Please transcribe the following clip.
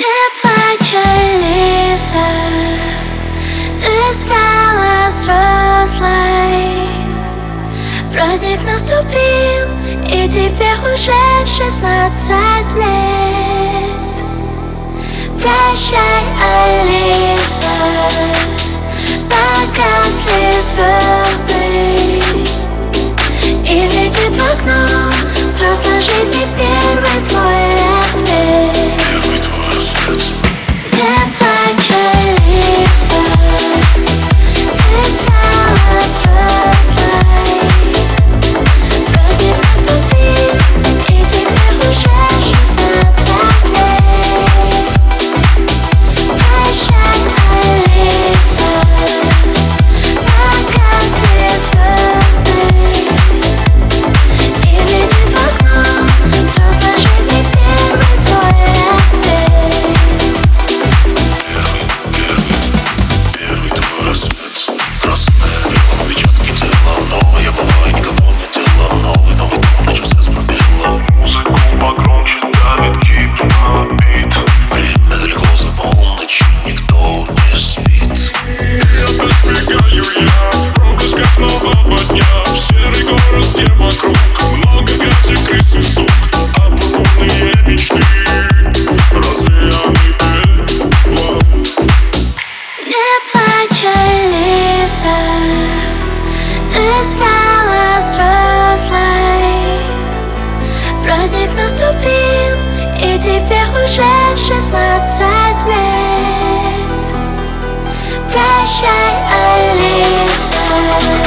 Не плачь, Алиса, ты стала взрослой. Праздник наступил, и тебе уже 16 лет. Прощай, Алиса, погасли звезды, и глядит в окно взрослой жизни первый твой рассвет. Первый твой рассвет. Не плачь, Алиса, ты стала взрослой. Праздник наступил, и тебе уже 16 лет. Прощай, Алиса, погасли звезды, и глядит в окно взрослой жизни первый твой рассвет. Первый твой рассвет. Красное бело, отпечатки тела. Новое бывает, никому не дело. Новый дом на часы с пробелом. Музыку погромче давит гипнобит. Время далеко за полночь, никто не спит. И опять бегаю я в проблесках нового дня. В серый город, где вокруг много грязи, крыс и сук. А пурпурные мечты развеяны пеплом. Не плачь, Алиса, ты стала взрослой. Праздник наступил, и тебе уже 16 лет. Прощай, Алиса.